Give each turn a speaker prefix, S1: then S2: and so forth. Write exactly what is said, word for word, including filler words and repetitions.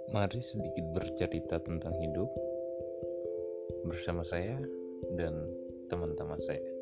S1: Mari sedikit bercerita tentang hidup bersama saya dan teman-teman saya.